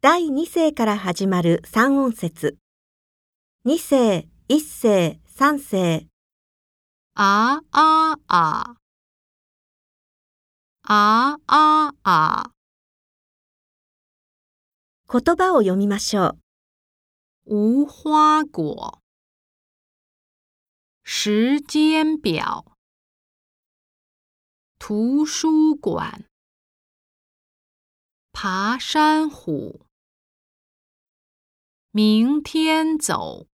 第2世から始まる3音節。2世、1世、3世。 あああ。あああ。 言葉を読みましょ无花果。时间表。图书馆。爬山虎。明天走。